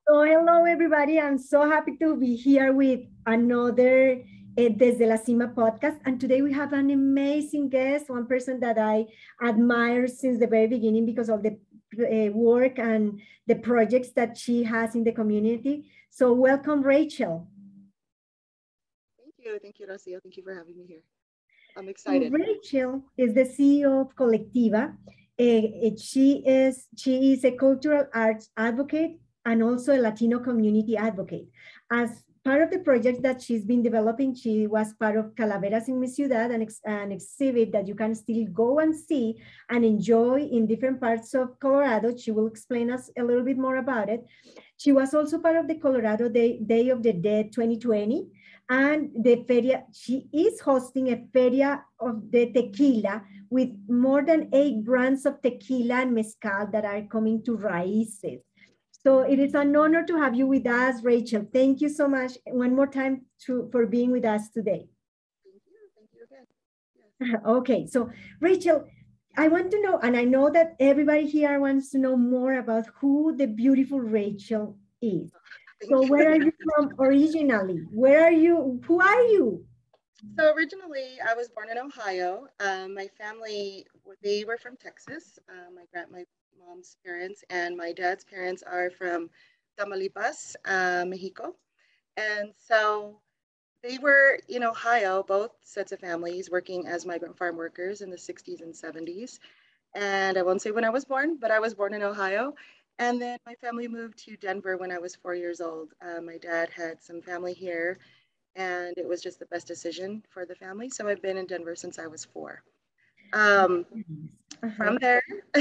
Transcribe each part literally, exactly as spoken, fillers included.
So hello everybody. I'm so happy to be here with another uh, Desde la Cima podcast. And today we have an amazing guest, one person that I admire since the very beginning because of the uh, work and the projects that she has in the community. So welcome, Rachel. Thank you. Thank you, Rocio. Thank you for having me here. I'm So excited. Rachel is the C E O of Colectiva. Eh, eh, she is she is a cultural arts advocate and also a Latino community advocate. As part of the project that she's been developing, she was part of Calaveras in Mi Ciudad, an, ex, an exhibit that you can still go and see and enjoy in different parts of Colorado. She will explain us a little bit more about it. She was also part of the Colorado Day, Day of the Dead twenty twenty, and the feria, she is hosting a feria of the tequila with more than eight brands of tequila and mezcal that are coming to Raíces. So it is an honor to have you with us, Rachel. Thank you so much one more time to, for being with us today. Thank you. Thank you again. Yes. Okay, so Rachel, I want to know, and I know that everybody here wants to know more about who the beautiful Rachel is. So Thank where you. are you from originally? Where are you? Who are you? So originally, I was born in Ohio. Um, my family, they were from Texas. Uh, my grand, my mom's parents and my dad's parents are from Tamaulipas, uh, Mexico. And so they were in Ohio, both sets of families working as migrant farm workers in the sixties and seventies. And I won't say when I was born, but I was born in Ohio. And then my family moved to Denver when I was four years old. Uh, my dad had some family here, and it was just the best decision for the family. So I've been in Denver since I was four. Um, Uh-huh. from there,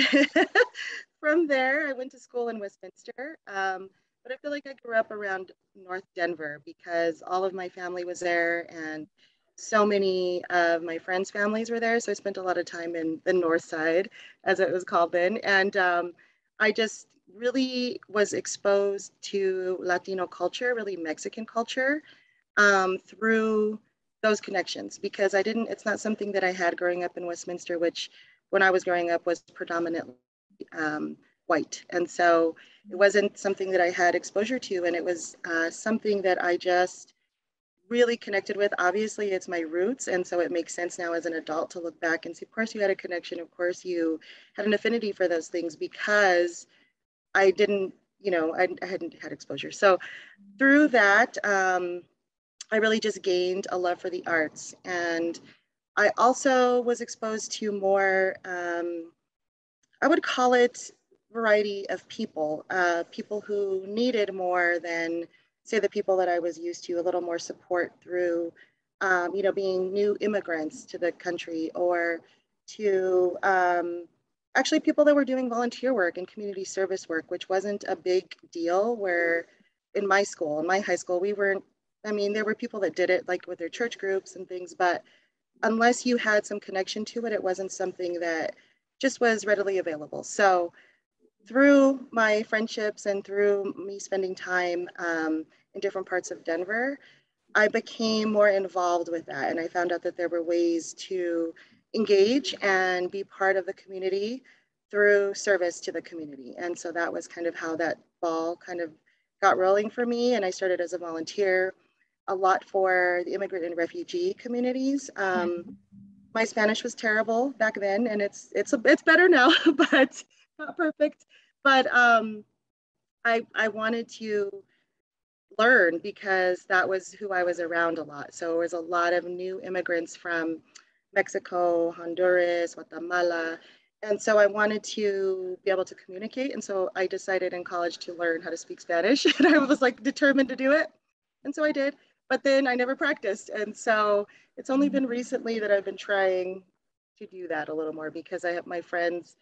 from there, I went to school in Westminster. Um, but I feel like I grew up around North Denver because all of my family was there, and so many of my friends' families were there. So I spent a lot of time in the North Side, as it was called then. And um, I just really was exposed to Latino culture, really Mexican culture, um, through those connections because I didn't, it's not something that I had growing up in Westminster, which when I was growing up was predominantly um, white. And so it wasn't something that I had exposure to. And it was uh, something that I just really connected with. Obviously, it's my roots. And so it makes sense now as an adult to look back and see, of course, you had a connection. Of course, you had an affinity for those things because I didn't, you know, I, I hadn't had exposure. So through that, um, I really just gained a love for the arts. And I also was exposed to more, um, I would call it variety of people, uh, people who needed more than, say, the people that I was used to, a little more support through, um, you know, being new immigrants to the country or to um, actually people that were doing volunteer work and community service work, which wasn't a big deal where in my school, in my high school, we weren't, I mean, there were people that did it like with their church groups and things, but unless you had some connection to it, it wasn't something that just was readily available. So through my friendships and through me spending time um, in different parts of Denver, I became more involved with that. And I found out that there were ways to engage and be part of the community through service to the community. And so that was kind of how that ball kind of got rolling for me. And I started as a volunteer a lot for the immigrant and refugee communities. Um, my Spanish was terrible back then, and it's it's a, it's better now, but not perfect. But um, I I wanted to learn because that was who I was around a lot. So there was a lot of new immigrants from Mexico, Honduras, Guatemala. And so I wanted to be able to communicate. And so I decided in college to learn how to speak Spanish. And I was like determined to do it. And so I did. But then I never practiced. And so it's only been recently that I've been trying to do that a little more because I have my friends,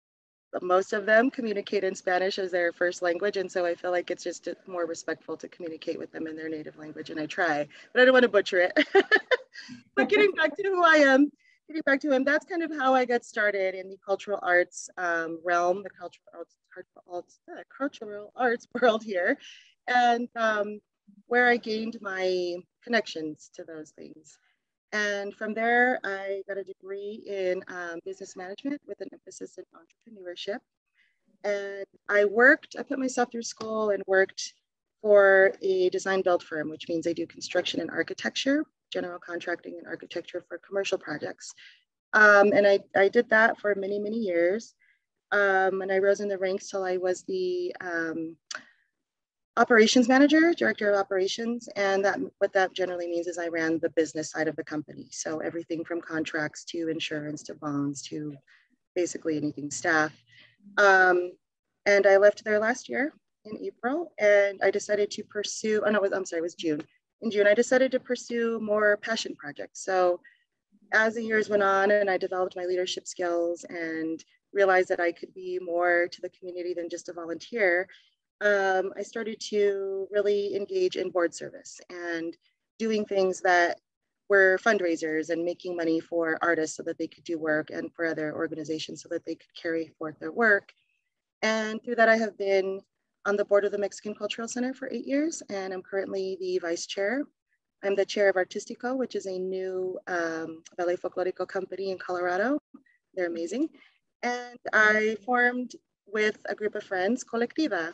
most of them communicate in Spanish as their first language. And so I feel like it's just more respectful to communicate with them in their native language. And I try, but I don't want to butcher it. But getting back to who I am, getting back to him, that's kind of how I got started in the cultural arts um, realm, the cultural arts, arts, uh, cultural arts world here, and um, where I gained my connections to those things. And from there, I got a degree in um, business management with an emphasis in entrepreneurship. And I worked, I put myself through school and worked for a design build firm, which means I do construction and architecture, general contracting and architecture for commercial projects. Um, and I, I did that for many, many years. Um, and I rose in the ranks till I was the um, operations manager, director of operations. And that what that generally means is I ran the business side of the company. So everything from contracts to insurance to bonds to basically anything staff. Um, and I left there last year in April, and I decided to pursue, oh no, it was, I'm sorry, it was June. In June, I decided to pursue more passion projects. So as the years went on and I developed my leadership skills and realized that I could be more to the community than just a volunteer, um, I started to really engage in board service and doing things that were fundraisers and making money for artists so that they could do work and for other organizations so that they could carry forth their work. And through that, I have been on the board of the Mexican Cultural Center for eight years, and I'm currently the vice chair. I'm the chair of Artistico, which is a new um, ballet folklorico company in Colorado. They're amazing. And I formed with a group of friends, Colectiva.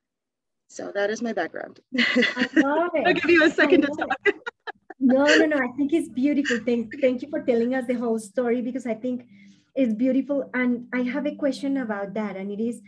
So that is my background. I love it. I'll give you a second to talk. It. No, no, no. I think it's beautiful. Thank, thank you for telling us the whole story, because I think it's beautiful. And I have a question about that. And it is,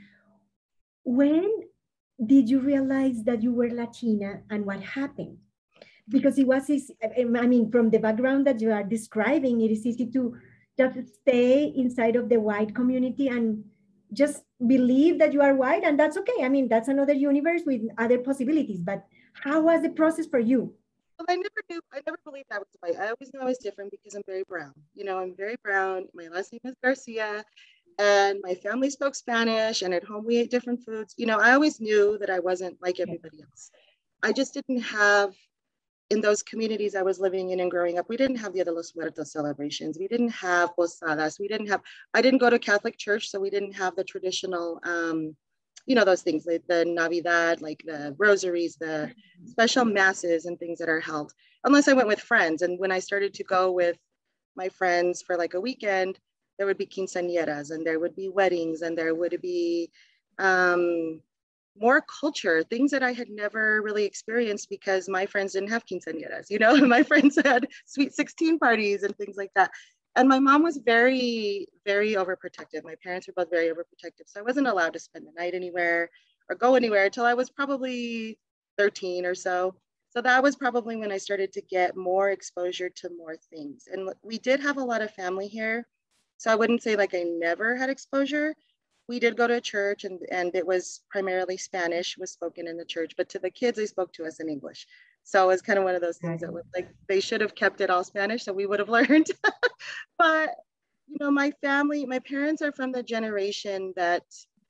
when did you realize that you were Latina and what happened? Because it was, I mean, from the background that you are describing, it is easy to just stay inside of the white community and just believe that you are white, and that's okay. I mean, that's another universe with other possibilities. But how was the process for you? Well, I never knew, I never believed I was white. I always knew I was different because I'm very brown. You know, I'm very brown. My last name is Garcia, and my family spoke Spanish, and at home we ate different foods. You know, I always knew that I wasn't like everybody else. I just didn't have, in those communities I was living in and growing up, we didn't have the Dia de los Muertos celebrations. We didn't have posadas. We didn't have, I didn't go to Catholic church, so we didn't have the traditional, um, you know, those things, like the Navidad, like the rosaries, the special masses and things that are held, unless I went with friends. And when I started to go with my friends for like a weekend, there would be quinceañeras and there would be weddings and there would be um, more culture, things that I had never really experienced because my friends didn't have quinceañeras, you know, my friends had sweet sixteen parties and things like that. And my mom was very, very overprotective. My parents were both very overprotective. So I wasn't allowed to spend the night anywhere or go anywhere until I was probably thirteen or so. So that was probably when I started to get more exposure to more things. And we did have a lot of family here. So I wouldn't say like I never had exposure. We did go to a church, and, and it was primarily Spanish was spoken in the church, but to the kids, they spoke to us in English. So it was kind of one of those things that was like, they should have kept it all Spanish, so we would have learned. But, you know, my family, my parents are from the generation that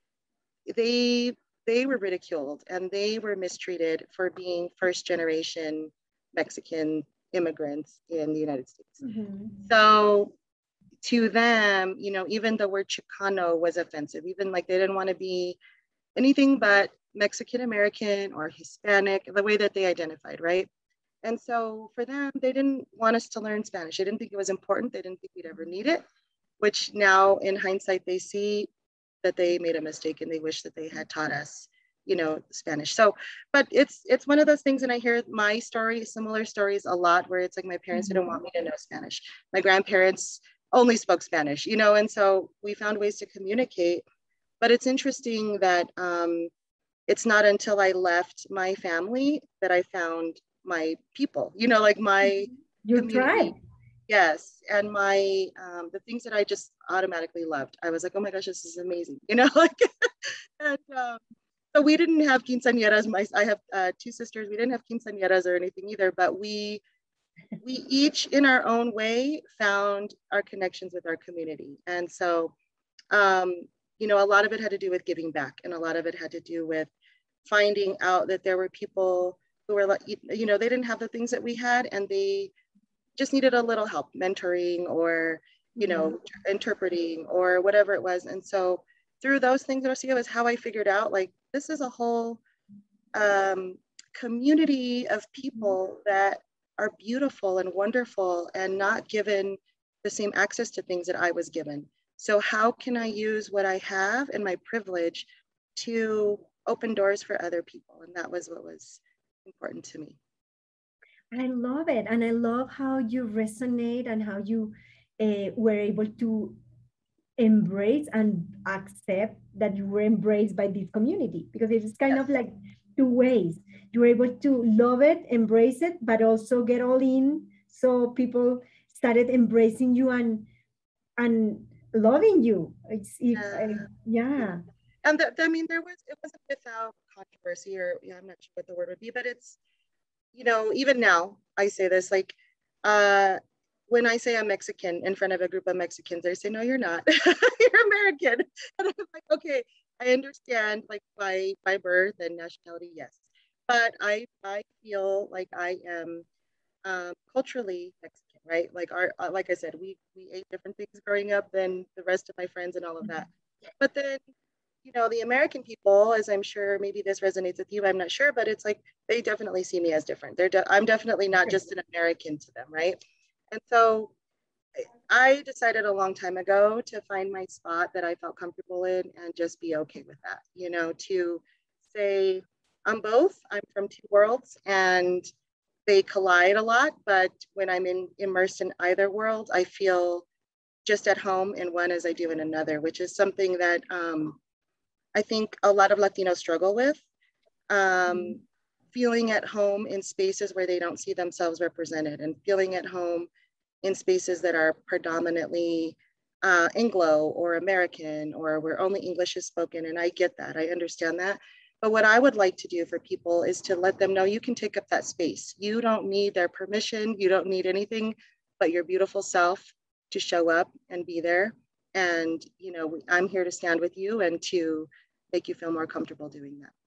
they, they were ridiculed and they were mistreated for being first generation Mexican immigrants in the United States. Mm-hmm. So to them, you know, even the word Chicano was offensive, even like they didn't want to be anything but Mexican American or Hispanic, the way that they identified, right? And so for them, they didn't want us to learn Spanish. They didn't think it was important. They didn't think we'd ever need it, which now in hindsight, they see that they made a mistake and they wish that they had taught us, you know, Spanish. So, but it's it's one of those things, and I hear my story, similar stories a lot, where it's like my parents didn't want me to know Spanish. My grandparents only spoke Spanish, you know, and so we found ways to communicate. But it's interesting that um, it's not until I left my family that I found my people, you know, like my Your tribe. Yes. And my, um, the things that I just automatically loved. I was like, oh my gosh, this is amazing, you know, like, and um, so we didn't have quinceañeras. My, I have uh, two sisters. We didn't have quinceañeras or anything either, but we, we each in our own way found our connections with our community. And so, um, you know, a lot of it had to do with giving back, and a lot of it had to do with finding out that there were people who were like, you know, they didn't have the things that we had, and they just needed a little help, mentoring or, you know, mm-hmm. interpreting or whatever it was. And so through those things, Rocio, is how I figured out, like, this is a whole um, community of people that are beautiful and wonderful and not given the same access to things that I was given. So how can I use what I have and my privilege to open doors for other people. And that was what was important to me. I love it. And I love how you resonate and how you uh, were able to embrace and accept that you were embraced by this community, because it is kind Yes. of like two ways. You were able to love it, embrace it, but also get all in. So people started embracing you and and loving you. It's if Yeah. uh, yeah. And the, I mean, there was, it wasn't without controversy, or yeah, I'm not sure what the word would be, but it's, you know, even now I say this, like, uh, when I say I'm Mexican in front of a group of Mexicans, they say, no, you're not, you're American. And I'm like, okay, I understand, like, by, by birth and nationality, yes. But I, I feel like I am um, culturally Mexican, right? Like our, uh, like I said, we, we ate different things growing up than the rest of my friends and all of that. But then, you know, the American people, as I'm sure maybe this resonates with you, I'm not sure, but it's like, they definitely see me as different. They're, de- I'm definitely not just an American to them, right? And so I decided a long time ago to find my spot that I felt comfortable in and just be okay with that, you know, to say, I'm both, I'm from two worlds and they collide a lot, but when I'm in, immersed in either world, I feel just at home in one as I do in another, which is something that um, I think a lot of Latinos struggle with, um, feeling at home in spaces where they don't see themselves represented, and feeling at home in spaces that are predominantly uh, Anglo or American, or where only English is spoken. And I get that, I understand that. But what I would like to do for people is to let them know you can take up that space. You don't need their permission, you don't need anything but your beautiful self to show up and be there. And, you know, I'm here to stand with you and to make you feel more comfortable doing that.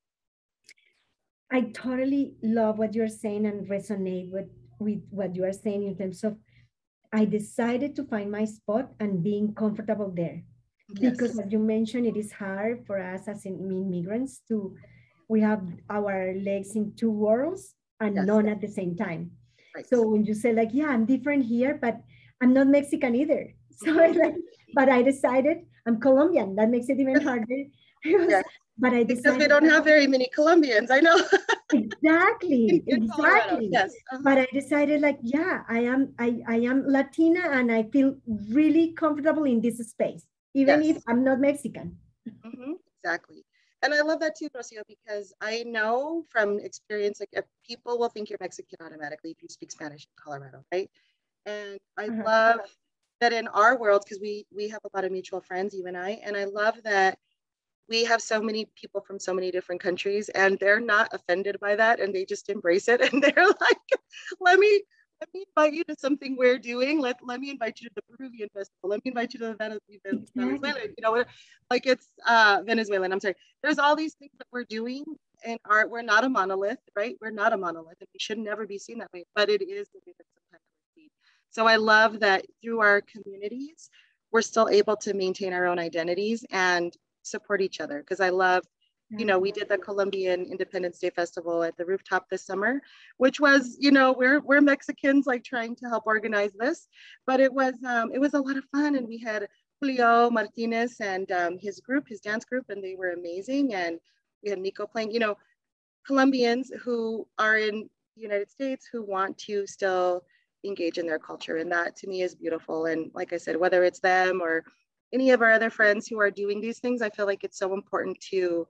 I totally love what you're saying and resonate with, with what you are saying in terms of I decided to find my spot and being comfortable there. Because Yes. as you mentioned, it is hard for us as immigrants to, we have our legs in two worlds and Yes. none at the same time. Right. So when you say like, yeah, I'm different here, but I'm not Mexican either. So Mhm. like, but I decided I'm Colombian. That makes it even harder. Yeah. But I Because we decided don't have very many Colombians, I know. exactly, in, in Colorado, exactly. yes. Uh-huh. But I decided like, yeah, I am, I, I am Latina and I feel really comfortable in this space, even Yes. if I'm not Mexican. Mm-hmm. Exactly. And I love that too, Rocio, because I know from experience, like if people will think you're Mexican automatically if you speak Spanish in Colorado, right? And I Uh-huh. love that in our world, because we we have a lot of mutual friends, you and I, and I love that we have so many people from so many different countries and they're not offended by that and they just embrace it and they're like, let me let me invite you to something we're doing. Let, let me invite you to the Peruvian festival. Let me invite you to the Venezuelan, Exactly. you know, like it's uh, Venezuelan, I'm sorry. There's all these things that we're doing in art. We're not a monolith, right? We're not a monolith and we should never be seen that way, but it is the way that sometimes we're seen. So I love that through our communities, we're still able to maintain our own identities and support each other. Because I love, you know, we did the Colombian Independence Day Festival at the rooftop this summer, which was, you know, we're we're Mexicans like trying to help organize this, but it was um, it was a lot of fun, and we had Julio Martinez and um, his group, his dance group, and they were amazing. And we had Nico playing, you know, Colombians who are in the United States who want to still engage in their culture, and that to me is beautiful. And like I said, whether it's them or any of our other friends who are doing these things, I feel like it's so important to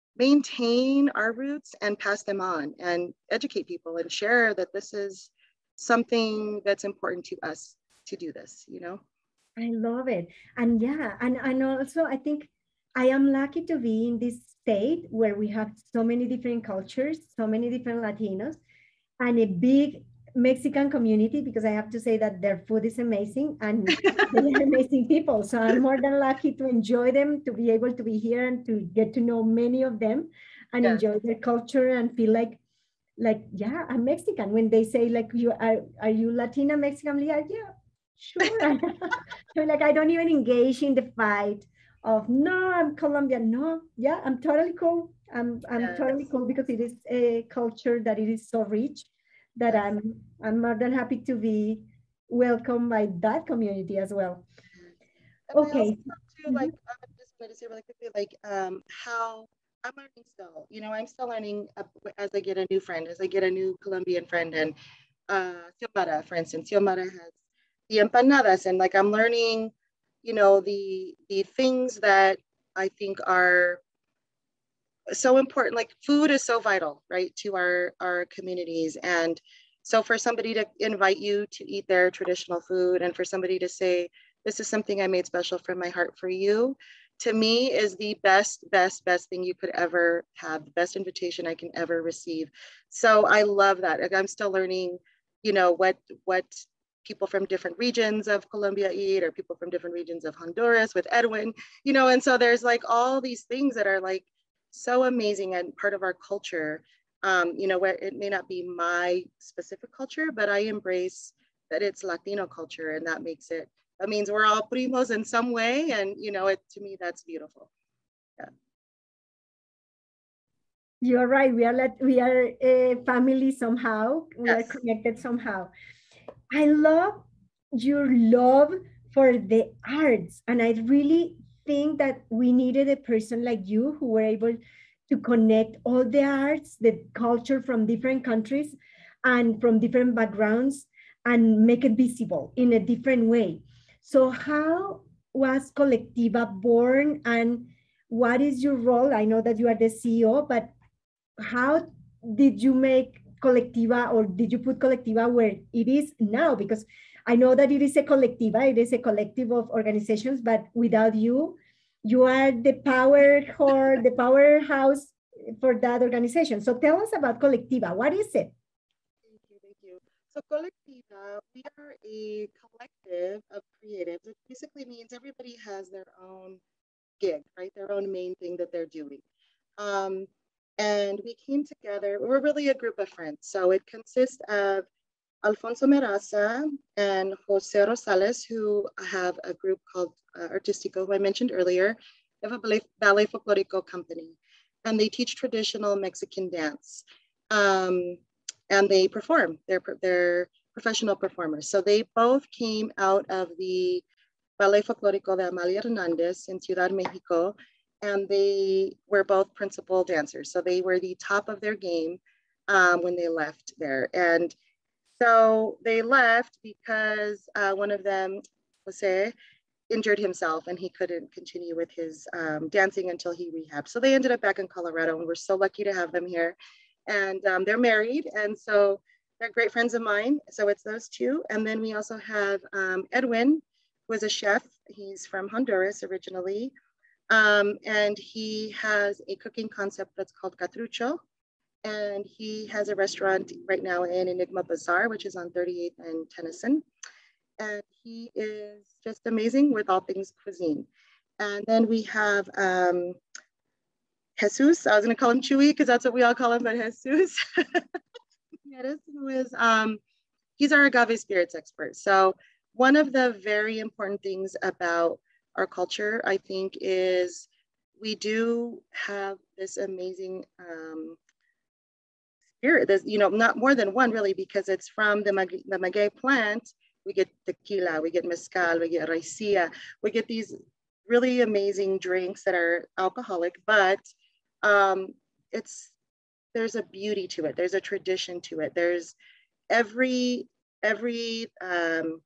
maintain our roots and pass them on and educate people and share that this is something that's important to us to do this, you know? I love it. And yeah, and, and also I think I am lucky to be in this state where we have so many different cultures, so many different Latinos, and a big Mexican community, because I have to say that their food is amazing and they are amazing people. So I'm more than lucky to enjoy them, to be able to be here and to get to know many of them and Yes. enjoy their culture and feel like, like, yeah, I'm Mexican. When they say like, you are, are you Latina Mexican? I'm like, yeah, sure. So like, I don't even engage in the fight of, no, I'm Colombian. No, yeah, I'm totally cool. I'm, I'm Yes. totally cool because it is a culture that it is so rich that Yes. I'm I'm more than happy to be welcomed by that community as well. And I also Okay. love too, like, I just wanted to say really quickly, like, um, how I'm learning still. You know, I'm still learning uh, as I get a new friend, as I get a new Colombian friend. And uh, Xiomara, for instance, Xiomara has the empanadas, and like I'm learning, you know, the the things that I think are so important. Like food is so vital, right, to our our communities. And so for somebody to invite you to eat their traditional food, and for somebody to say, this is something I made special from my heart for you, to me is the best best best thing you could ever have, the best invitation I can ever receive. So I love that. Like, I'm still learning, you know, what what people from different regions of Colombia eat, or people from different regions of Honduras with Edwin, you know. And so there's like all these things that are like so amazing and part of our culture, um, you know, where it may not be my specific culture, but I embrace that it's Latino culture, and that makes it, that means we're all primos in some way. And, you know, it, to me, that's beautiful. Yeah. You're right. We are like, we are a family somehow. We are Yes. connected somehow. I love your love for the arts, and I really think that we needed a person like you who were able to connect all the arts, the culture from different countries and from different backgrounds, and make it visible in a different way. So how was Colectiva born, and what is your role? I know that you are the C E O, but how did you make Colectiva, or did you put Colectiva where it is now? Because I know that it is a Colectiva, it is a collective of organizations, but without you, you are the power or the powerhouse for that organization. So tell us about Colectiva. What is it? Thank you, thank you. So Colectiva, we are a collective of creatives. It basically means everybody has their own gig, right? Their own main thing that they're doing. Um, and we came together. We're really a group of friends. So it consists of Alfonso Meraza and Jose Rosales, who have a group called uh, Artistico, who I mentioned earlier. They have a ballet, ballet folklorico company, and they teach traditional Mexican dance. Um, and they perform. They're, they're professional performers. So they both came out of the Ballet Folklorico de Amalia Hernandez in Ciudad Mexico, and they were both principal dancers. So they were the top of their game um, when they left there. And so they left because uh, one of them, Jose, injured himself, and he couldn't continue with his um, dancing until he rehabbed. So they ended up back in Colorado, and we're so lucky to have them here. And um, they're married, and so they're great friends of mine. So it's those two. And then we also have um, Edwin, who is a chef. He's from Honduras originally. Um, and he has a cooking concept that's called Catrucho. And he has a restaurant right now in Enigma Bazaar, which is on thirty-eighth and Tennyson. And he is just amazing with all things cuisine. And then we have um, Jesus. I was going to call him Chewy because that's what we all call him, but Jesus. Who is, um, he's our agave spirits expert. So one of the very important things about our culture, I think, is we do have this amazing um, spirit. There's, you know, not more than one really, because it's from the, mag- the maguey plant. We get tequila, we get mezcal, we get raicilla, we get these really amazing drinks that are alcoholic, but um, it's, there's a beauty to it. There's a tradition to it. There's every, every um,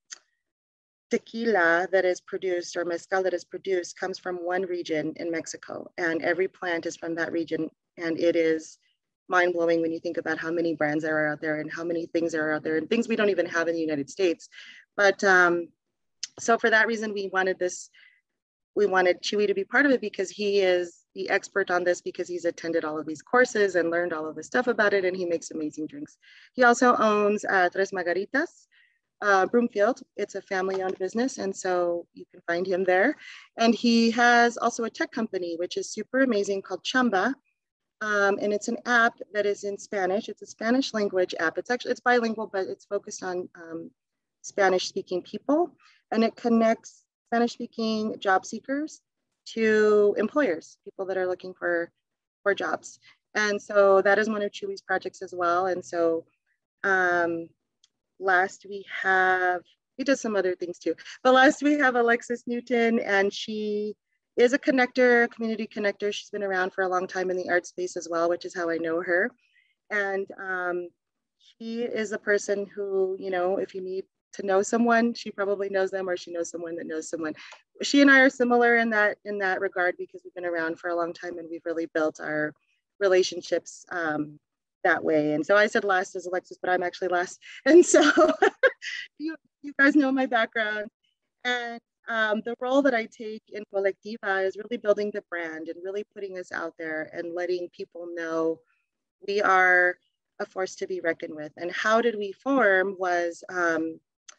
tequila that is produced or mezcal that is produced comes from one region in Mexico, and every plant is from that region. And it is mind-blowing when you think about how many brands there are out there and how many things are out there and things we don't even have in the United States. But um, so for that reason, we wanted this, we wanted Chewy to be part of it because he is the expert on this, because he's attended all of these courses and learned all of this stuff about it, and he makes amazing drinks. He also owns uh, Tres Margaritas, uh, Broomfield. It's a family-owned business, and so you can find him there. And he has also a tech company, which is super amazing, called Chamba. Um, and it's an app that is in Spanish. It's a Spanish language app. It's actually, it's bilingual, but it's focused on um, Spanish speaking people. And it connects Spanish speaking job seekers to employers, people that are looking for, for jobs. And so that is one of Chewy's projects as well. And so um, last we have, he does some other things too, but last we have Alexis Newton, and she is a connector, community connector. She's been around for a long time in the art space as well, which is how I know her. And um, she is a person who, you know, if you need to know someone, she probably knows them, or she knows someone that knows someone. She and I are similar in that in that regard, because we've been around for a long time and we've really built our relationships um, that way. And so I said last as Alexis, but I'm actually last. And so you, you guys know my background. And um, the role that I take in Colectiva is really building the brand and really putting us out there and letting people know we are a force to be reckoned with. And how did we form was um,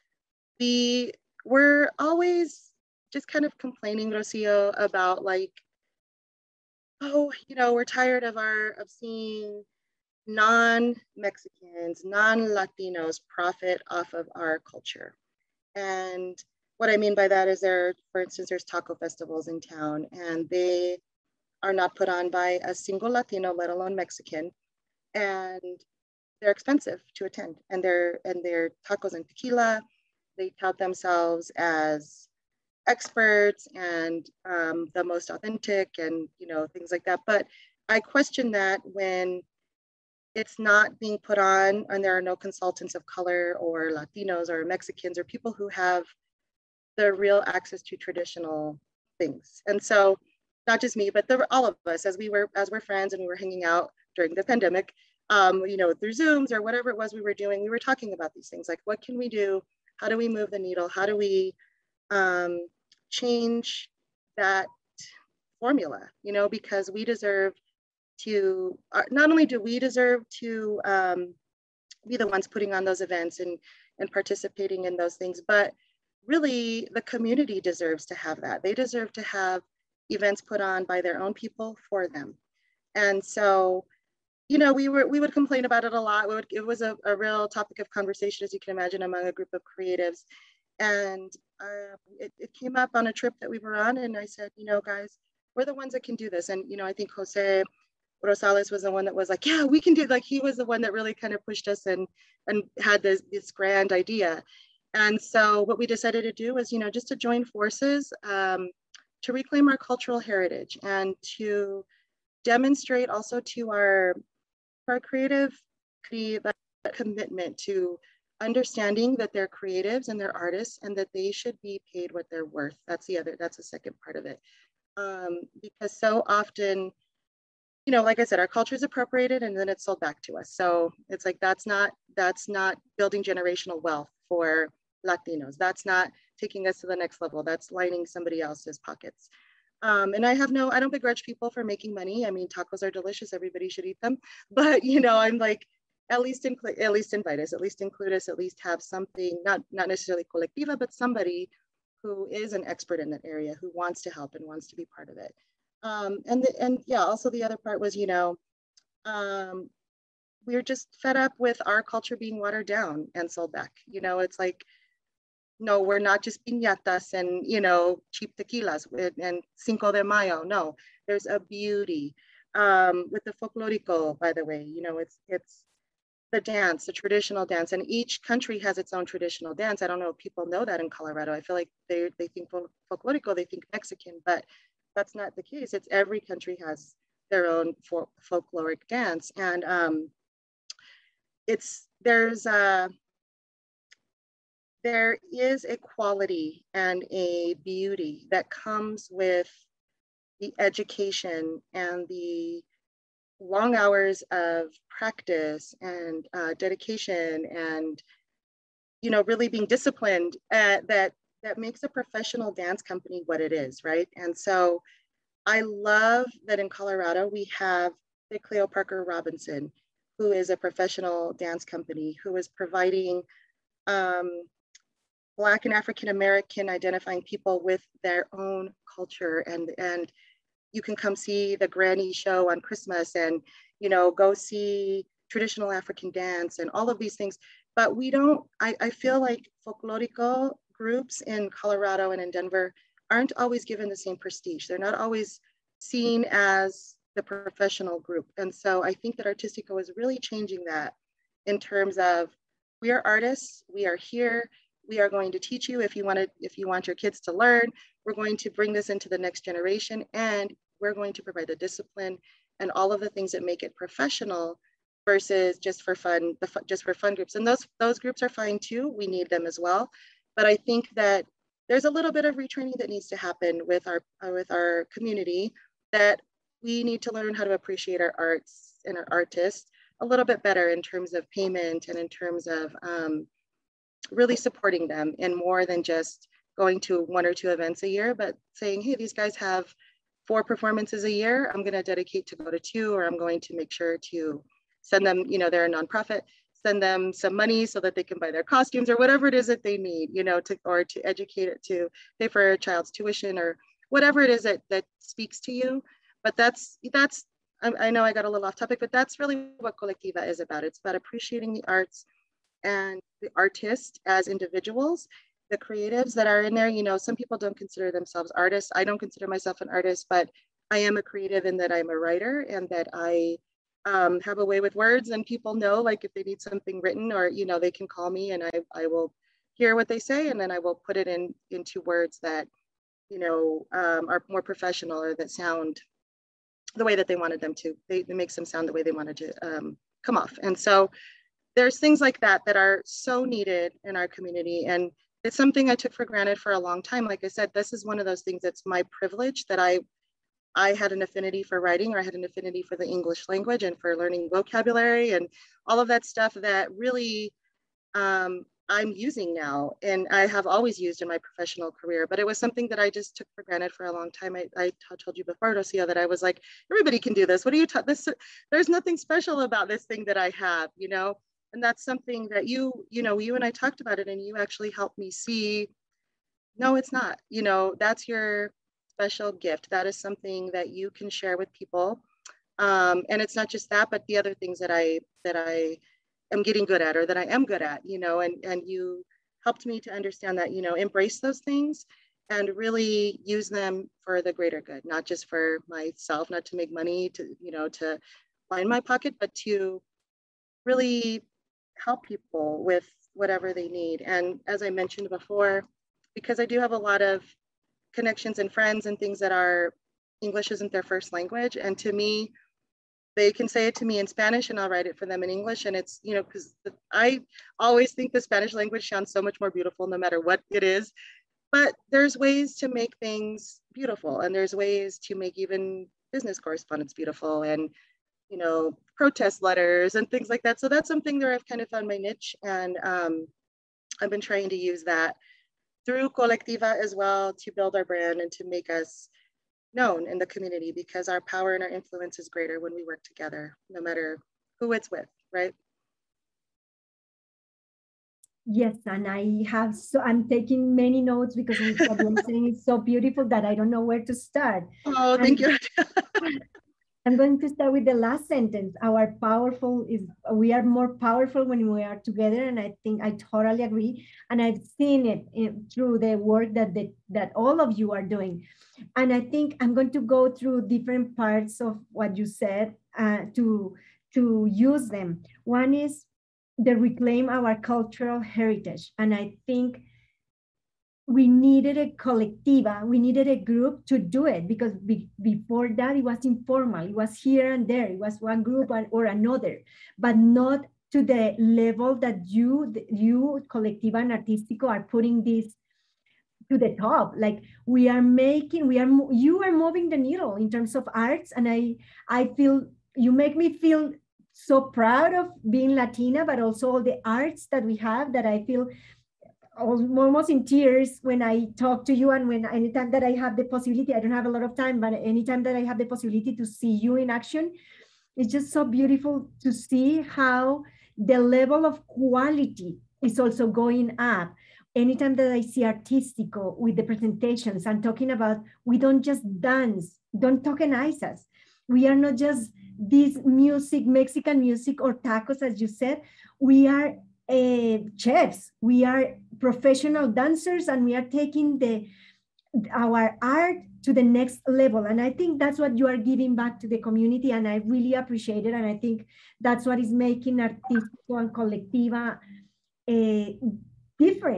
we were always just kind of complaining, Rocio, about like, oh, you know, we're tired of our of seeing non-Mexicans, non-Latinos profit off of our culture. And what I mean by that is there, for instance, there's taco festivals in town, and they are not put on by a single Latino, let alone Mexican. And they're expensive to attend. And they're, and they're tacos and tequila. They tout themselves as experts and um, the most authentic and, you know, things like that. But I question that when it's not being put on and there are no consultants of color or Latinos or Mexicans or people who have the real access to traditional things. And so not just me, but the, all of us, as we were, as we're friends and we were hanging out during the pandemic, um, you know, through Zooms or whatever it was we were doing, we were talking about these things, like what can we do? How do we move the needle? How do we um, change that formula, you know, because we deserve to, uh, not only do we deserve to um, be the ones putting on those events and, and participating in those things, but really the community deserves to have that. They deserve to have events put on by their own people for them. And so, you know, we were we would complain about it a lot. We would, it was a, a real topic of conversation, as you can imagine, among a group of creatives. And uh, it, it came up on a trip that we were on, and I said, you know, guys, we're the ones that can do this. And, you know, I think Jose Rosales was the one that was like, yeah, we can do, like, he was the one that really kind of pushed us and, and had this, this grand idea. And so what we decided to do was, you know, just to join forces um, to reclaim our cultural heritage and to demonstrate also to our, our creative commitment to understanding that they're creatives and they're artists and that they should be paid what they're worth. That's the other, that's the second part of it. Um, because so often, you know, like I said, our culture is appropriated and then it's sold back to us. So it's like, that's not, that's not building generational wealth for Latinos. That's not taking us to the next level. That's lining somebody else's pockets. Um, and I have no, I don't begrudge people for making money. I mean, tacos are delicious. Everybody should eat them. But, you know, I'm like, at least include, at least invite us, at least include us, at least have something, not, not necessarily Colectiva, but somebody who is an expert in that area, who wants to help and wants to be part of it. Um, and, the, and yeah, also the other part was, you know, um, we were just fed up with our culture being watered down and sold back. You know, it's like, no, we're not just piñatas and, you know, cheap tequilas and Cinco de Mayo. No, there's a beauty um, with the folklorico, by the way. You know, it's it's the dance, the traditional dance, and each country has its own traditional dance. I don't know if people know that in Colorado. I feel like they they think folklorico, they think Mexican, but that's not the case. It's every country has their own for, folkloric dance, and um, it's there's a there is a quality and a beauty that comes with the education and the long hours of practice and uh, dedication and, you know, really being disciplined uh, that that makes a professional dance company what it is, right? And so I love that in Colorado we have the Cleo Parker Robinson, who is a professional dance company who is providing um, Black and African American identifying people with their own culture, and and you can come see the Granny show on Christmas, and you know, go see traditional African dance and all of these things. But we don't. I, I feel like folklorico groups in Colorado and in Denver aren't always given the same prestige. They're not always seen as the professional group, and so I think that Artístico is really changing that in terms of we are artists, we are here. we are going to teach you if you want to, if you want your kids to learn. We're going to bring this into the next generation, and we're going to provide the discipline and all of the things that make it professional versus just for fun, the fun, just for fun groups. And those, those groups are fine too. We need them as well. But I think that there's a little bit of retraining that needs to happen with our, uh, with our community, that we need to learn how to appreciate our arts and our artists a little bit better in terms of payment and in terms of um, really supporting them in more than just going to one or two events a year, but saying, hey, these guys have four performances a year. I'm going to dedicate to go to two, or I'm going to make sure to send them, you know, they're a nonprofit, send them some money so that they can buy their costumes or whatever it is that they need, you know, to, or to educate it, to pay for a child's tuition or whatever it is that, that speaks to you. But that's, that's, I, I know I got a little off topic, but that's really what Colectiva is about. It's about appreciating the arts and the artists as individuals, the creatives that are in there. You know, some people don't consider themselves artists. I don't consider myself an artist, but I am a creative in that I'm a writer, and that I um, have a way with words, and people know, like, if they need something written, or, you know, they can call me and I, I will hear what they say, and then I will put it in into words that, you know, um, are more professional, or that sound the way that they wanted them to. They, it makes them sound the way they wanted to um, come off. And so there's things like that that are so needed in our community. And it's something I took for granted for a long time. Like I said, this is one of those things that's my privilege, that I I had an affinity for writing, or I had an affinity for the English language and for learning vocabulary and all of that stuff that really um, I'm using now. And I have always used in my professional career, but it was something that I just took for granted for a long time. I, I told you before, Rocio, that I was like, everybody can do this. What are you talking this? There's nothing special about this thing that I have, you know? And that's something that you, you know, you and I talked about it, and you actually helped me see, no, it's not, you know, that's your special gift. That is something that you can share with people. Um, and it's not just that, but the other things that I, that I am getting good at, or that I am good at, you know, and, and you helped me to understand that, you know, embrace those things and really use them for the greater good, not just for myself, not to make money, to, you know, to line my pocket, but to really help people with whatever they need. And as I mentioned before, because I do have a lot of connections and friends and things that are, English isn't their first language. And to me, they can say it to me in Spanish and I'll write it for them in English. And it's, you know, because I always think the Spanish language sounds so much more beautiful no matter what it is. But there's ways to make things beautiful, and there's ways to make even business correspondence beautiful, and, you know, protest letters and things like that. So that's something that I've kind of found my niche. And um, I've been trying to use that through Colectiva as well, to build our brand and to make us known in the community, because our power and our influence is greater when we work together, no matter who it's with, right? Yes, and I have, so I'm taking many notes, because what you're saying is so beautiful that I don't know where to start. Oh, thank and, you. I'm going to start with the last sentence. Our powerful is, we are more powerful when we are together. And I think I totally agree. And I've seen it in, through the work that, the, that all of you are doing. And I think I'm going to go through different parts of what you said uh, to, to use them. One is the reclaim our cultural heritage. And I think we needed a colectiva, we needed a group to do it, because be, before that it was informal. It was here and there. It was one group or another, but not to the level that you, you Colectiva and Artístico are putting this to the top. Like we are making, we are, you are moving the needle in terms of arts. And I, I feel, you make me feel so proud of being Latina, but also all the arts that we have, that I feel almost in tears when I talk to you, and when anytime that I have the possibility, I don't have a lot of time, but anytime that I have the possibility to see you in action, it's just so beautiful to see how the level of quality is also going up. Anytime that I see Artístico with the presentations and talking about, we don't just dance, don't tokenize us. We are not just this music, Mexican music or tacos, as you said. We are Uh, chefs, we are professional dancers, and we are taking the our art to the next level. And I think that's what you are giving back to the community, and I really appreciate it. And I think that's what is making Artístico and Colectiva uh, different,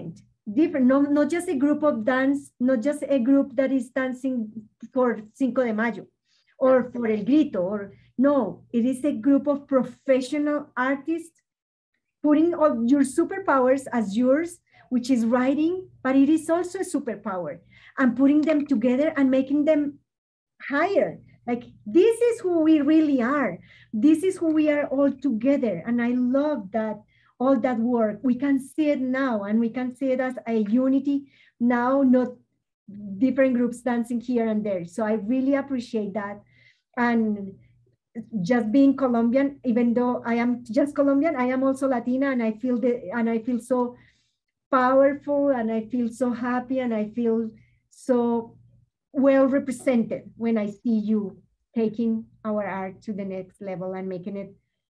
different, no, not just a group of dance, not just a group that is dancing for Cinco de Mayo or yeah. for El Grito, or no, it is a group of professional artists putting all your superpowers as yours, which is writing, but it is also a superpower, and putting them together and making them higher. Like, this is who we really are. This is who we are all together. And I love that, all that work. We can see it now, and we can see it as a unity now, not different groups dancing here and there. So I really appreciate that. And just being Colombian, even though I am just Colombian, I am also Latina, and I feel the, and I feel so powerful, and I feel so happy, and I feel so well represented when I see you taking our art to the next level and making it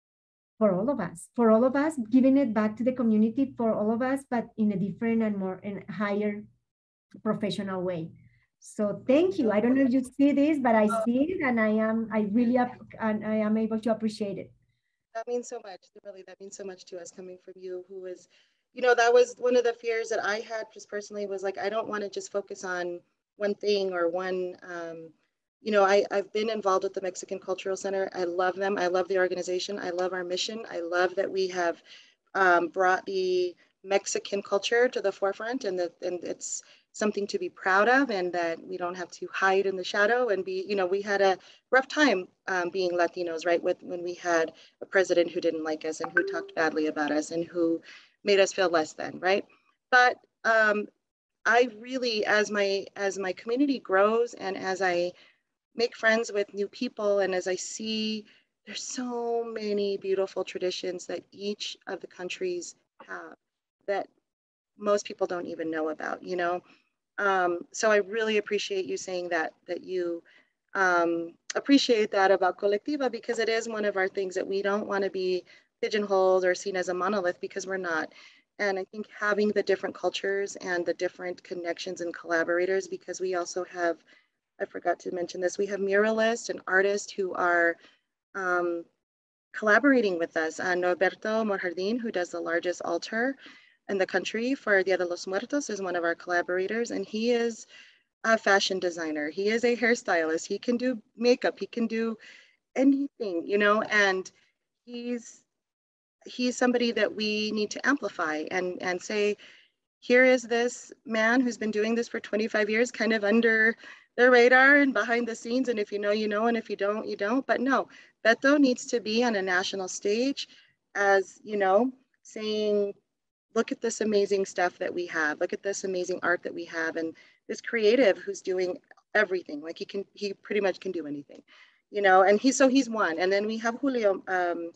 for all of us, for all of us, giving it back to the community for all of us, but in a different and more and higher professional way. So thank you. I don't know if you see this, but I see it, and I am, I really, and I am able to appreciate it. That means so much. Really, that means so much to us coming from you, who is, you know, that was one of the fears that I had just personally, was like, I don't want to just focus on one thing or one, um, you know, I, I've been involved with the Mexican Cultural Center. I love them. I love the organization. I love our mission. I love that we have um, brought the Mexican culture to the forefront, and that, and it's something to be proud of, and that we don't have to hide in the shadow and be, you know, we had a rough time um, being Latinos, right? With when we had a president who didn't like us and who talked badly about us and who made us feel less than, right? But um, I really, as my, as my community grows, and as I make friends with new people, and as I see there's so many beautiful traditions that each of the countries have that most people don't even know about, you know? Um, so I really appreciate you saying that, that you um, appreciate that about Colectiva, because it is one of our things that we don't want to be pigeonholed or seen as a monolith, because we're not. And I think having the different cultures and the different connections and collaborators, because we also have, I forgot to mention this, we have muralists and artists who are um, collaborating with us. Uh, Norberto Morjardin, who does the largest altar in the country for Dia de los Muertos, is one of our collaborators, and he is a fashion designer. He is a hairstylist. He can do makeup. He can do anything, you know, and he's he's somebody that we need to amplify and and say, here is this man who's been doing this for twenty-five years, kind of under the radar and behind the scenes, and if you know, you know, and if you don't, you don't. But no, Beto needs to be on a national stage, as, you know, saying, look at this amazing stuff that we have. Look at this amazing art that we have. And this creative who's doing everything. Like, he can, he pretty much can do anything, you know, and he's, so he's one. And then we have Julio, um,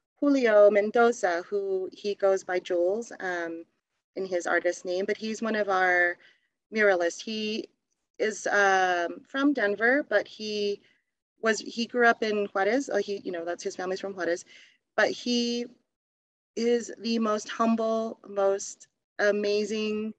Julio Mendoza, who he goes by Jules um, in his artist name, but he's one of our muralists. He is um, from Denver, but he was, he grew up in Juarez. Uh, he, you know, that's his family's from Juarez, but he is the most humble, most amazing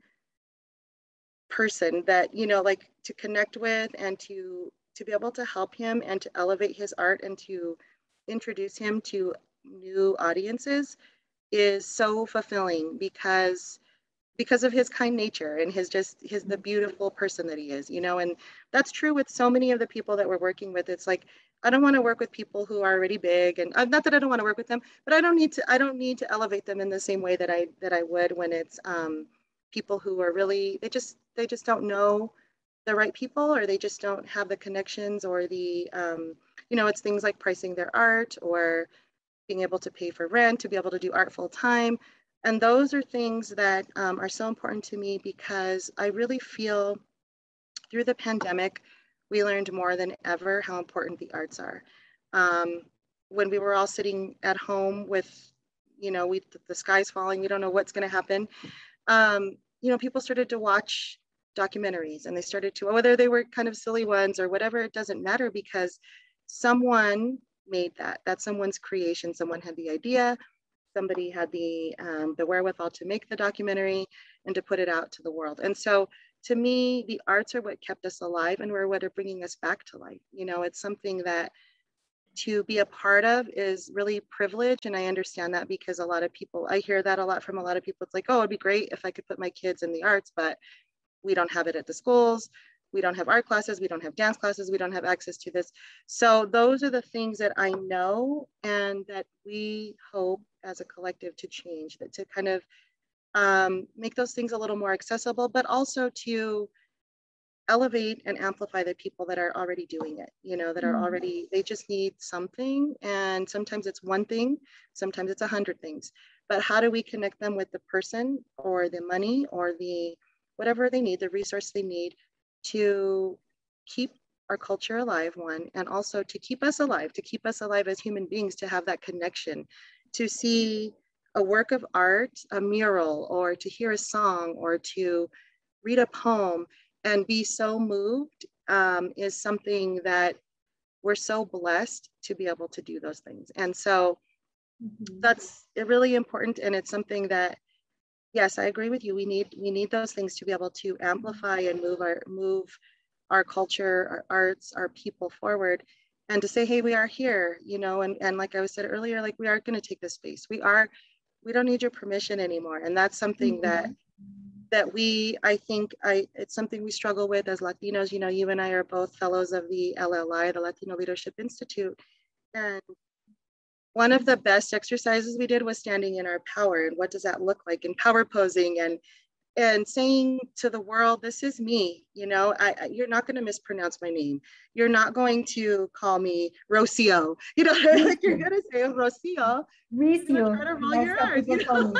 person that, you know, like, to connect with, and to to be able to help him and to elevate his art and to introduce him to new audiences is so fulfilling, because because of his kind nature and his just his the beautiful person that he is, you know. And that's true with so many of the people that we're working with. It's like, I don't want to work with people who are already big, and uh, not that I don't want to work with them, but I don't need to I don't need to elevate them in the same way that I that I would when it's um, people who are really, they just they just don't know the right people, or they just don't have the connections, or the um, you know, it's things like pricing their art, or being able to pay for rent, to be able to do art full time. And those are things that um, are so important to me, because I really feel through the pandemic, we learned more than ever how important the arts are. Um, when we were all sitting at home with, you know, we, the sky's falling, we don't know what's going to happen. Um, you know, people started to watch documentaries, and they started to, whether they were kind of silly ones or whatever, it doesn't matter, because someone made that. That's someone's creation. Someone had the idea. Somebody had the um, the wherewithal to make the documentary and to put it out to the world. And so, to me, the arts are what kept us alive, and were what are bringing us back to life. You know, it's something that to be a part of is really privileged. And I understand that because a lot of people, I hear that a lot from a lot of people. It's like, oh, it'd be great if I could put my kids in the arts, but we don't have it at the schools. We don't have art classes. We don't have dance classes. We don't have access to this. So those are the things that I know and that we hope as a collective to change, that to kind of um, make those things a little more accessible, but also to elevate and amplify the people that are already doing it, you know, that are already, they just need something. And sometimes it's one thing, sometimes it's a hundred things, but how do we connect them with the person or the money or the, whatever they need, the resource they need to keep our culture alive, one, and also to keep us alive, to keep us alive as human beings, to have that connection, to see a work of art, a mural, or to hear a song, or to read a poem and be so moved um, is something that we're so blessed to be able to do those things. And so mm-hmm. that's really important. And it's something that, yes, I agree with you. We need we need those things to be able to amplify and move our move our culture, our arts, our people forward, and to say, hey, we are here, you know, and, and like I was said earlier, like we are going to take this space. We are, we don't need your permission anymore. And that's something mm-hmm. that that we, I think, I it's something we struggle with as Latinos. You know, you and I are both fellows of the L L I, the Latino Leadership Institute. And one of the best exercises we did was standing in our power. And what does that look like? And power posing and and saying to the world, this is me, you know, I, I, you're not going to mispronounce my name. You're not going to call me Rocio. You know, like you're going to say Rocio. Rocio. Try to roll your R's, you know?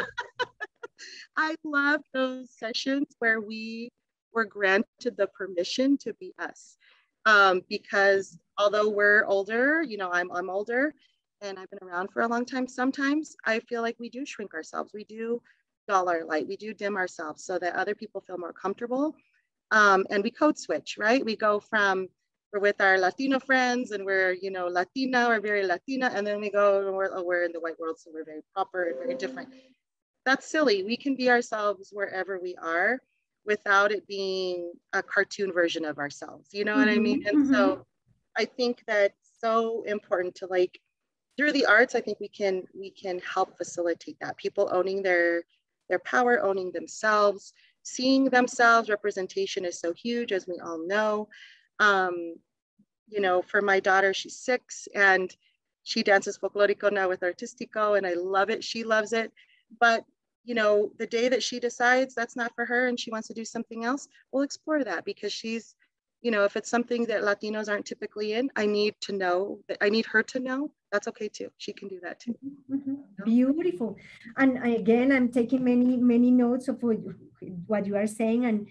I love those sessions where we were granted the permission to be us. Um, because although we're older, you know, I'm, I'm older and I've been around for a long time, sometimes I feel like we do shrink ourselves. We do dull our light. We do dim ourselves so that other people feel more comfortable. Um, and we code switch, right? We go from, we're with our Latino friends and we're, you know, Latina or very Latina. And then we go, and we're, oh, we're in the white world, so we're very proper and very different. That's silly. We can be ourselves wherever we are without it being a cartoon version of ourselves. You know mm-hmm, what I mean? And mm-hmm. so I think that's so important to, like, through the arts, I think we can we can help facilitate that. People owning their their power, owning themselves, seeing themselves. Representation is so huge, as we all know. Um, you know, for my daughter, she's six and she dances folklorico now with artistico, and I love it. She loves it. But, you know, the day that she decides that's not for her and she wants to do something else, we'll explore that, because she's, you know, if it's something that Latinos aren't typically in, I need to know that I need her to know that's okay too. She can do that too. Mm-hmm. Beautiful. And again, I'm taking many, many notes of what you, what you are saying. And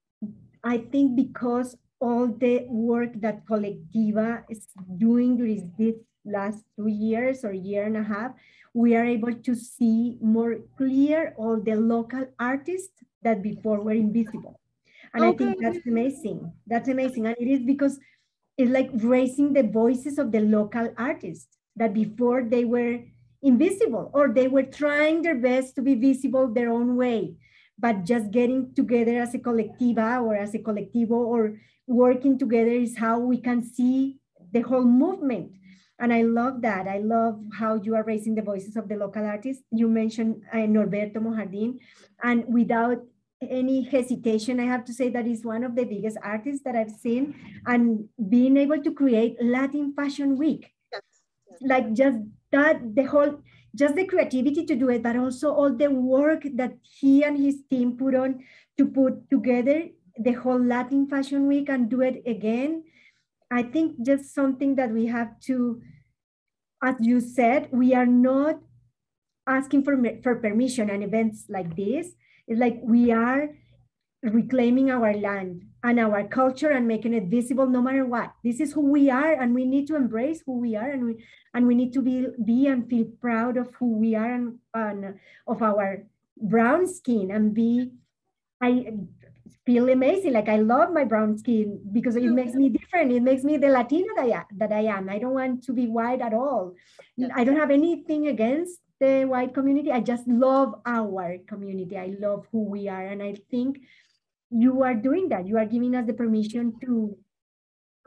I think because all the work that Colectiva is doing during these last two years or year and a half, we are able to see more clear all the local artists that before were invisible. And okay. I think that's amazing. That's amazing. And it is because it's like raising the voices of the local artists that before they were invisible, or they were trying their best to be visible their own way, but just getting together as a colectiva or as a colectivo or working together is how we can see the whole movement. And I love that. I love how you are raising the voices of the local artists. You mentioned uh, Norberto Mojardin, and without any hesitation, I have to say that he's one of the biggest artists that I've seen, and being able to create Latin Fashion Week. Yes. Yes. Like just that, the whole, just the creativity to do it, but also all the work that he and his team put on to put together the whole Latin Fashion Week and do it again. I think just something that we have to, as you said, we are not asking for, for permission and events like this. It's like we are reclaiming our land and our culture and making it visible no matter what. This is who we are, and we need to embrace who we are, and we and we need to be be and feel proud of who we are and, and of our brown skin, and be I feel amazing. Like I love my brown skin because it makes me different. It makes me the Latina that I, that I am. I don't want to be white at all. Yes. I don't have anything against the white community. I just love our community. I love who we are. And I think you are doing that. You are giving us the permission to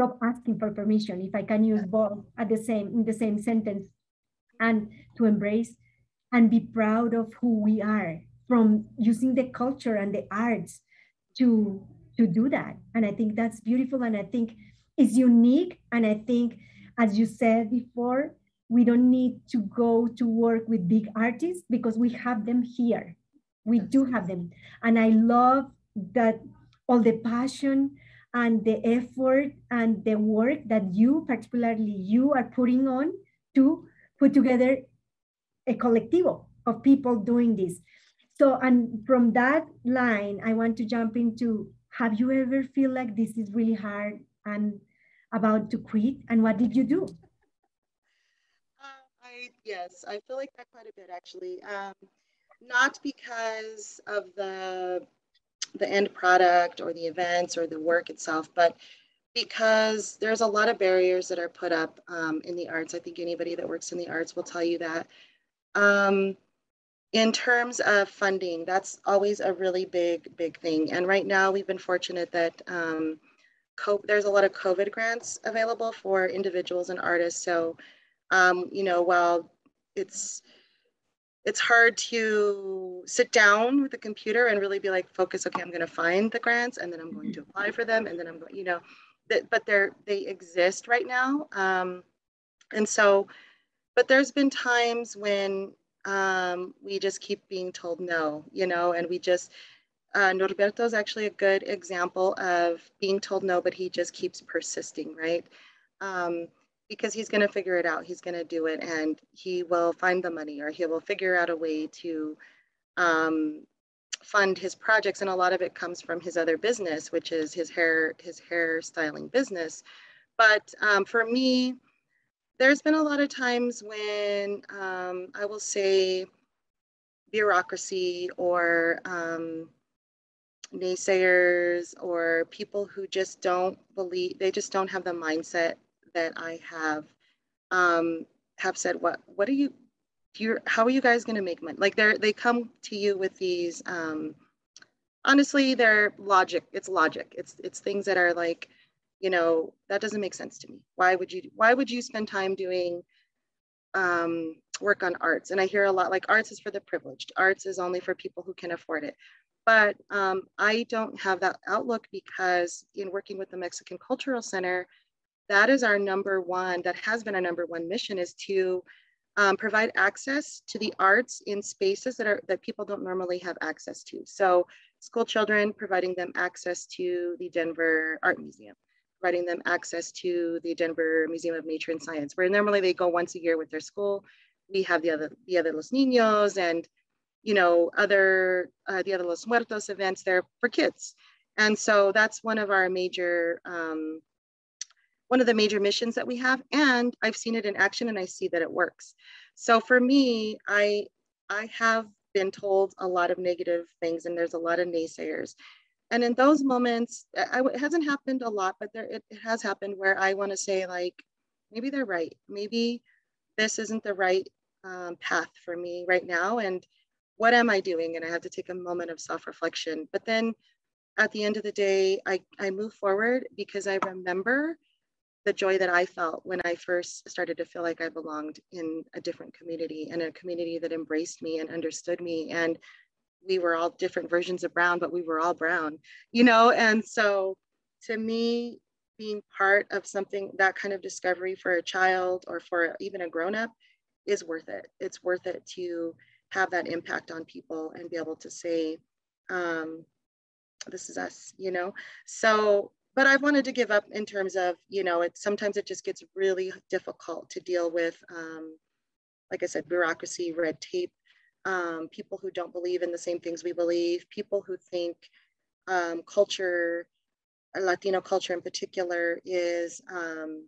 stop asking for permission, if I can use both at the same in the same sentence, and to embrace and be proud of who we are, from using the culture and the arts to to do that. And I think that's beautiful, and I think it's unique. And I think, as you said before, we don't need to go to work with big artists because we have them here. We do have them. And I love that all the passion and the effort and the work that you, particularly you, are putting on to put together a colectivo of people doing this. So, and from that line, I want to jump into, have you ever feel like this is really hard and about to quit? And what did you do? Uh, I, yes, I feel like that quite a bit actually. Um, not because of the the end product or the events or the work itself, but because there's a lot of barriers that are put up um, in the arts. I think anybody that works in the arts will tell you that. Um, in terms of funding, that's always a really big, big thing. And right now, we've been fortunate that um, there's a lot of COVID grants available for individuals and artists. So, um, you know, while it's it's hard to sit down with a computer and really be like, focus, okay, I'm going to find the grants and then I'm going to apply for them. And then I'm going, you know, that, but they're, they exist right now. Um, and so, but there's been times when um, we just keep being told no, you know, and we just, uh, Norberto is actually a good example of being told no, but he just keeps persisting, right? Um, because he's going to figure it out. He's going to do it, and he will find the money, or he will figure out a way to um, fund his projects. And a lot of it comes from his other business, which is his hair, his hair styling business. But um, for me, there's been a lot of times when um, I will say bureaucracy or um, naysayers or people who just don't believe, they just don't have the mindset that I have, um, have said, what, what are you, do you, how are you guys going to make money? Like they're, they come to you with these, um, honestly, they're logic. It's logic. It's, it's things that are like, you know, that doesn't make sense to me. Why would you, why would you spend time doing um, work on arts? And I hear a lot like arts is for the privileged. Arts is only for people who can afford it. But um, I don't have that outlook, because in working with the Mexican Cultural Center, that is our number one, that has been our number one mission, is to um, provide access to the arts in spaces that are that people don't normally have access to. So school children, providing them access to the Denver Art Museum, providing them access to the Denver Museum of Nature and Science, where normally they go once a year with their school. We have the other, the other Los Niños and, you know, other, uh, the other Los Muertos events there for kids. And so that's one of our major, um, one of the major missions that we have. And I've seen it in action and I see that it works. So for me, I, I have been told a lot of negative things and there's a lot of naysayers. And in those moments, I, it hasn't happened a lot, but there, it, it has happened where I want to say like, maybe they're right. Maybe this isn't the right um, path for me right now. And what am I doing? And I have to take a moment of self-reflection. But then at the end of the day, I, I move forward because I remember the joy that I felt when I first started to feel like I belonged in a different community, and a community that embraced me and understood me. And we were all different versions of brown, but we were all brown, you know? And so to me, being part of something, that kind of discovery for a child or for even a grown-up is worth it. It's worth it to have that impact on people and be able to say, um, this is us, you know? So, but I wanted to give up in terms of, you know, it sometimes it just gets really difficult to deal with, um, like I said, bureaucracy, red tape, um, people who don't believe in the same things we believe, people who think um, culture, Latino culture in particular, is, um,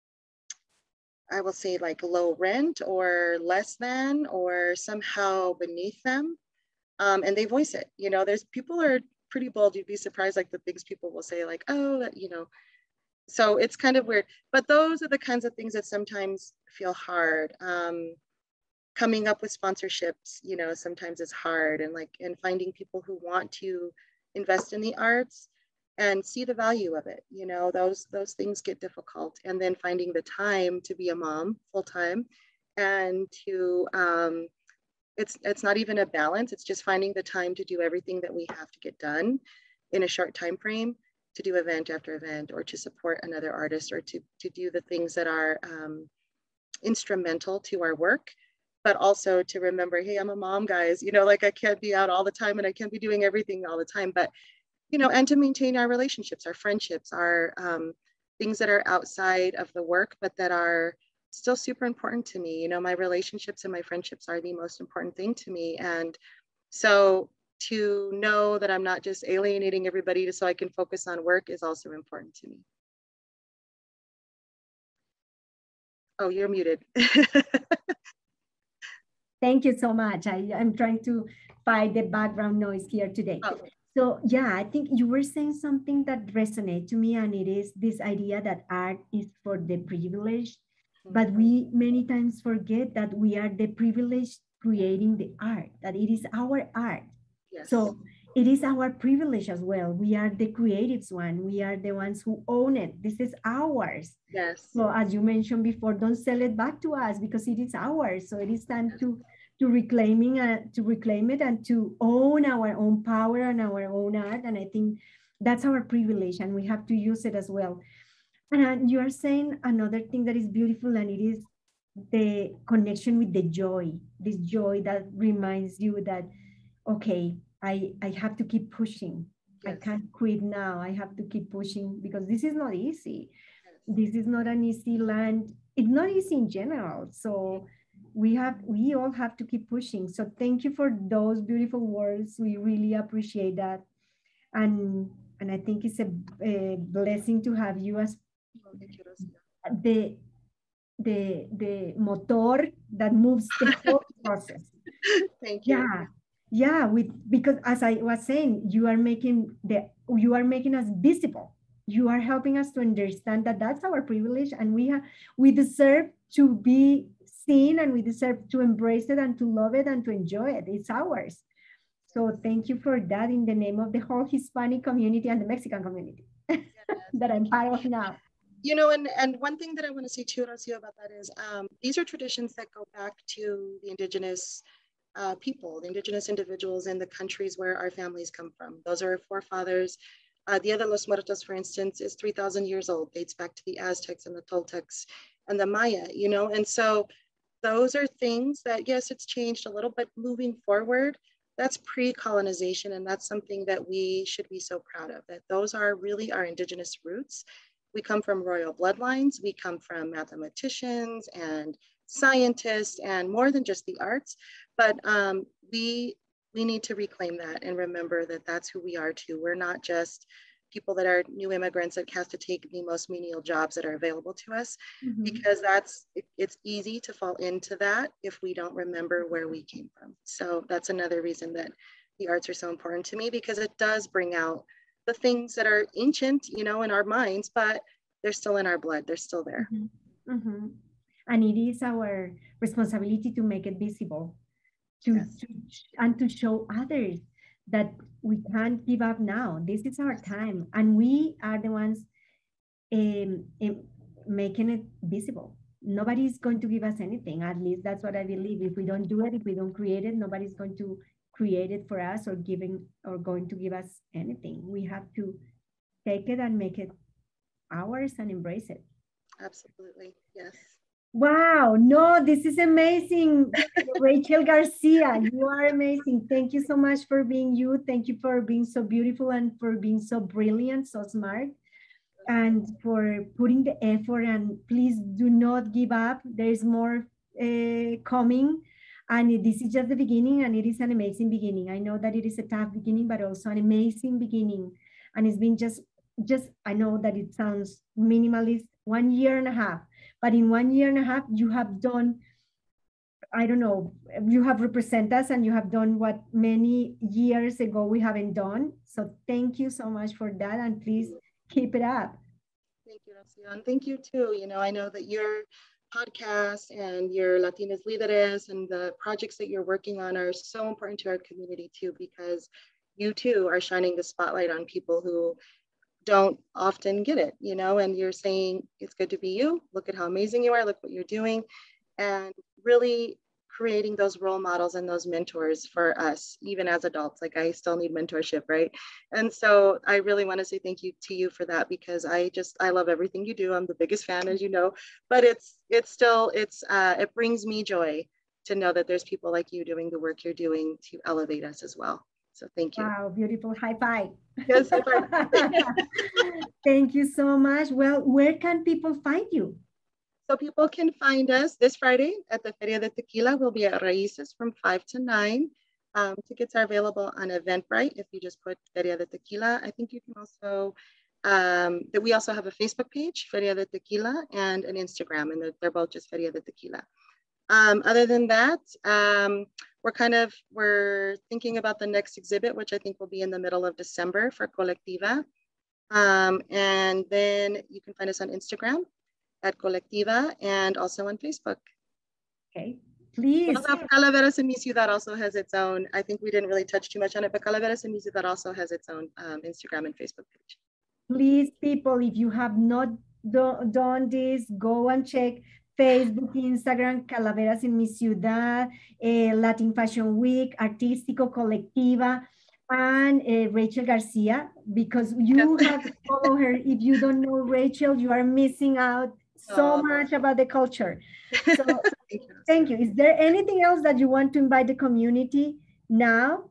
I will say, like low rent or less than or somehow beneath them. Um, and they voice it. You know, there's people are pretty bold. You'd be surprised, like the things people will say, like, oh, that, you know, so it's kind of weird. But those are the kinds of things that sometimes feel hard. Um, coming up with sponsorships, you know, sometimes it's hard, and like, and finding people who want to invest in the arts. and see the value of it. You know, those those things get difficult. And then finding the time to be a mom full time, and to um, it's it's not even a balance. It's just finding the time to do everything that we have to get done in a short time frame, to do event after event, or to support another artist, or to to do the things that are um, instrumental to our work. But also to remember, hey, I'm a mom, guys. You know, like I can't be out all the time, and I can't be doing everything all the time. But you know, and to maintain our relationships, our friendships, our um, things that are outside of the work, but that are still super important to me. You know, my relationships and my friendships are the most important thing to me. And so to know that I'm not just alienating everybody just so I can focus on work is also important to me. Oh, you're muted. Thank you so much. I, I'm trying to find the background noise here today. Oh. So yeah, I think you were saying something that resonated to me, and it is this idea that art is for the privileged, mm-hmm. but we many times forget that we are the privileged creating the art, that it is our art. Yes. So it is our privilege as well. We are the creatives one. We are the ones who own it. This is ours. Yes. So as you mentioned before, don't sell it back to us because it is ours. So it is time yes. to to reclaiming uh, to reclaim it and to own our own power and our own art. And I think that's our privilege, and we have to use it as well. And uh, you are saying another thing that is beautiful, and it is the connection with the joy. This joy that reminds you that, okay, I, I have to keep pushing. Yes. I can't quit now. I have to keep pushing because this is not easy. Yes. This is not an easy land. It's not easy in general. So we have, we all have to keep pushing. So thank you for those beautiful words. We really appreciate that. And, and I think it's a, a blessing to have you as the, the, the motor that moves the whole process. Thank you. Yeah. Yeah, with because as I was saying, you are making the you are making us visible. You are helping us to understand that that's our privilege, and we have we deserve to be seen, and we deserve to embrace it and to love it and to enjoy it. It's ours. So thank you for that in the name of the whole Hispanic community and the Mexican community yes. that I'm part of now. You know, and, and one thing that I want to say too, Rocio, about that is um, these are traditions that go back to the indigenous Uh, people, the indigenous individuals in the countries where our families come from. Those are our forefathers. Uh, Dia de los Muertos, for instance, is three thousand years old, dates back to the Aztecs and the Toltecs and the Maya, you know? And so those are things that, yes, it's changed a little, but moving forward, that's pre-colonization. And that's something that we should be so proud of, that those are really our indigenous roots. We come from royal bloodlines. We come from mathematicians and scientists and more than just the arts, but um, we we need to reclaim that and remember that that's who we are too. We're not just people that are new immigrants that have to take the most menial jobs that are available to us, mm-hmm. because that's it, it's easy to fall into that if we don't remember where we came from. So that's another reason that the arts are so important to me, because it does bring out the things that are ancient, you know, in our minds, but they're still in our blood. They're still there. Mm-hmm. Mm-hmm. And it is our responsibility to make it visible, to, yes. to and to show others that we can't give up now. This is our time, and we are the ones um, um, making it visible. Nobody's going to give us anything. At least that's what I believe. If we don't do it, if we don't create it, nobody's going to create it for us or giving or going to give us anything. We have to take it and make it ours and embrace it. Absolutely, yes. Wow, no, this is amazing. Rachel Garcia, you are amazing. Thank you so much for being you. Thank you for being so beautiful and for being so brilliant, so smart, and for putting the effort. And please do not give up. There is more uh, coming. And this is just the beginning, and it is an amazing beginning. I know that it is a tough beginning, but also an amazing beginning. And it's been just, just I know that it sounds minimalist, one year and a half. But in one year and a half, you have done, I don't know, you have represented us and you have done what many years ago we haven't done. So thank you so much for that. And please keep it up. Thank you, Rocio. And thank you too. You know, I know that your podcast and your Latinas Líderes and the projects that you're working on are so important to our community too, because you too are shining the spotlight on people who don't often get it, you know, and you're saying it's good to be you. Look at how amazing you are. Look what you're doing. And really creating those role models and those mentors for us, even as adults. Like I still need mentorship, right? And so I really want to say thank you to you for that, because I just, I love everything you do. I'm the biggest fan, as you know, but it's, it's still, it's, uh, it brings me joy to know that there's people like you doing the work you're doing to elevate us as well. So thank you. Wow, beautiful. High five. Yes, high five. Thank you so much. Well, where can people find you? So people can find us this Friday at the Feria de Tequila. We'll be at Raíces from five to nine. Um, tickets are available on Eventbrite if you just put Feria de Tequila. I think you can also, um, that we also have a Facebook page, Feria de Tequila, and an Instagram, and they're both just Feria de Tequila. Um, other than that, um, we're kind of, we're thinking about the next exhibit, which I think will be in the middle of December for Colectiva. Um, and then you can find us on Instagram at Colectiva and also on Facebook. Okay, please. Well, Calaveras en Mi Ciudad also has its own, I think we didn't really touch too much on it, but Calaveras en Mi Ciudad also has its own um, Instagram and Facebook page. Please, people, if you have not do, done this, go and check Facebook, Instagram, Calaveras en Mi Ciudad, uh, Latin Fashion Week, Artístico Colectiva, and uh, Rachel Garcia, because you yes. have to follow her. If you don't know Rachel, you are missing out so oh. much about the culture. So thank, you. thank you. Is there anything else that you want to invite the community now?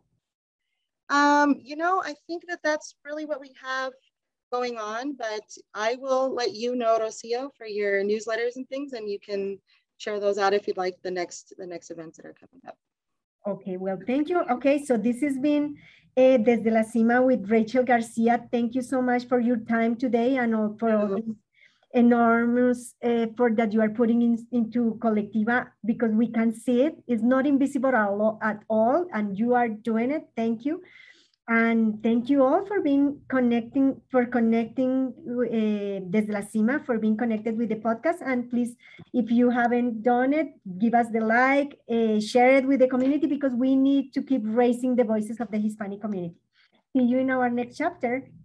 Um, you know, I think that that's really what we have going on, but I will let you know, Rocio, for your newsletters and things, and you can share those out if you'd like the next the next events that are coming up. Okay, well, thank you. Okay, so this has been uh, Desde la Cima with Rachel Garcia. Thank you so much for your time today and all, for all this enormous effort that you are putting in, into Colectiva, because we can see it. It's not invisible at all, and you are doing it. Thank you. And thank you all for being connecting, for connecting uh, Desde la Cima, for being connected with the podcast. And please, if you haven't done it, give us the like, uh, share it with the community, because we need to keep raising the voices of the Hispanic community. See you in our next chapter.